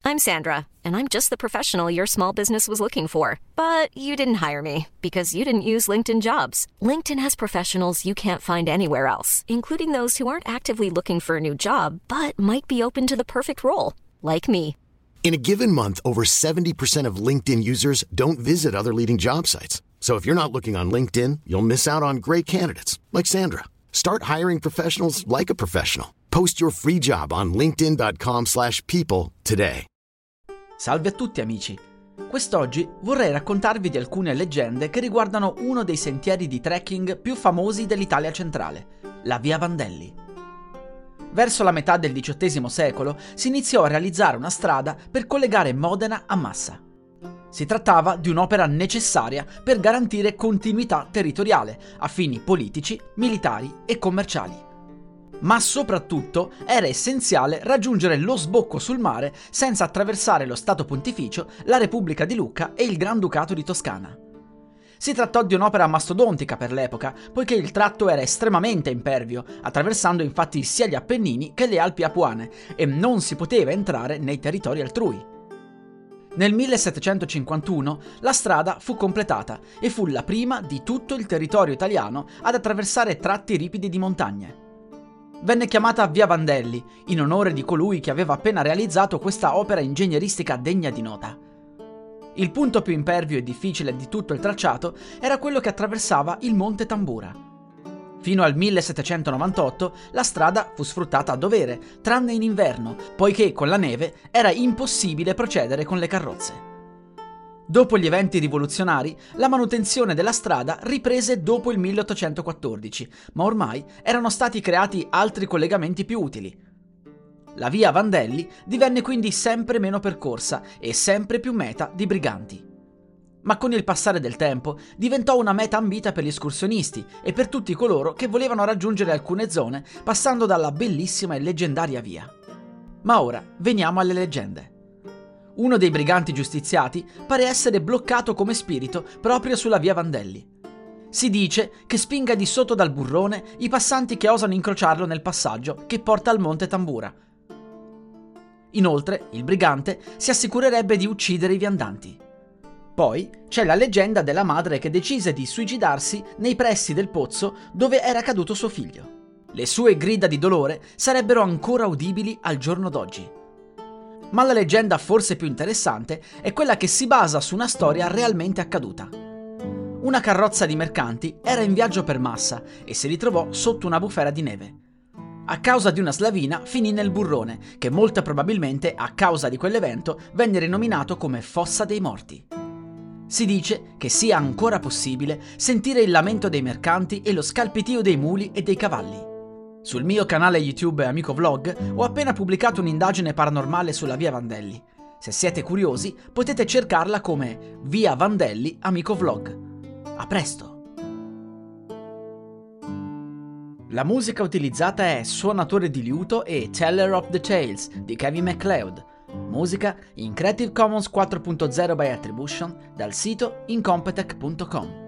I'm Sandra, and I'm just the professional your small business was looking for. But you didn't hire me because you didn't use LinkedIn Jobs. LinkedIn has professionals you can't find anywhere else, including those who aren't actively looking for a new job, but might be open to the perfect role, like me. In a given month, over 70% of LinkedIn users don't visit other leading job sites. So if you're not looking on LinkedIn, you'll miss out on great candidates, like Sandra. Start hiring professionals like a professional. Post your free job on linkedin.com/people today. Salve a tutti amici! Quest'oggi vorrei raccontarvi di alcune leggende che riguardano uno dei sentieri di trekking più famosi dell'Italia centrale, la Via Vandelli. Verso la metà del XVIII secolo si iniziò a realizzare una strada per collegare Modena a Massa. Si trattava di un'opera necessaria per garantire continuità territoriale a fini politici, militari e commerciali. Ma soprattutto era essenziale raggiungere lo sbocco sul mare senza attraversare lo Stato Pontificio, la Repubblica di Lucca e il Granducato di Toscana. Si trattò di un'opera mastodontica per l'epoca, poiché il tratto era estremamente impervio, attraversando infatti sia gli Appennini che le Alpi Apuane, e non si poteva entrare nei territori altrui. Nel 1751 la strada fu completata e fu la prima di tutto il territorio italiano ad attraversare tratti ripidi di montagne. Venne chiamata Via Vandelli, in onore di colui che aveva appena realizzato questa opera ingegneristica degna di nota. Il punto più impervio e difficile di tutto il tracciato era quello che attraversava il Monte Tambura. Fino al 1798 la strada fu sfruttata a dovere, tranne in inverno, poiché con la neve era impossibile procedere con le carrozze. Dopo gli eventi rivoluzionari, la manutenzione della strada riprese dopo il 1814, ma ormai erano stati creati altri collegamenti più utili. La via Vandelli divenne quindi sempre meno percorsa e sempre più meta di briganti. Ma con il passare del tempo diventò una meta ambita per gli escursionisti e per tutti coloro che volevano raggiungere alcune zone passando dalla bellissima e leggendaria via. Ma ora veniamo alle leggende. Uno dei briganti giustiziati pare essere bloccato come spirito proprio sulla via Vandelli. Si dice che spinga di sotto dal burrone i passanti che osano incrociarlo nel passaggio che porta al Monte Tambura. Inoltre, il brigante si assicurerebbe di uccidere i viandanti. Poi c'è la leggenda della madre che decise di suicidarsi nei pressi del pozzo dove era caduto suo figlio. Le sue grida di dolore sarebbero ancora udibili al giorno d'oggi. Ma la leggenda forse più interessante è quella che si basa su una storia realmente accaduta. Una carrozza di mercanti era in viaggio per Massa e si ritrovò sotto una bufera di neve. A causa di una slavina finì nel burrone, che molto probabilmente a causa di quell'evento venne rinominato come Fossa dei Morti. Si dice che sia ancora possibile sentire il lamento dei mercanti e lo scalpitio dei muli e dei cavalli. Sul mio canale YouTube Amico Vlog ho appena pubblicato un'indagine paranormale sulla Via Vandelli. Se siete curiosi potete cercarla come Via Vandelli Amico Vlog. A presto! La musica utilizzata è Suonatore di liuto e Teller of the Tales di Kevin MacLeod. Musica in Creative Commons 4.0 by Attribution dal sito incompetech.com.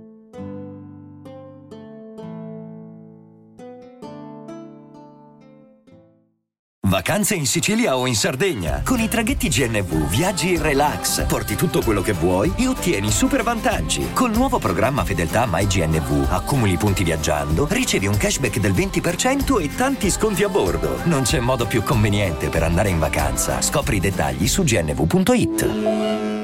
Vacanze in Sicilia o in Sardegna. Con i traghetti GNV viaggi in relax, porti tutto quello che vuoi e ottieni super vantaggi. Col nuovo programma Fedeltà MyGNV accumuli punti viaggiando, ricevi un cashback del 20% e tanti sconti a bordo. Non c'è modo più conveniente per andare in vacanza. Scopri i dettagli su gnv.it.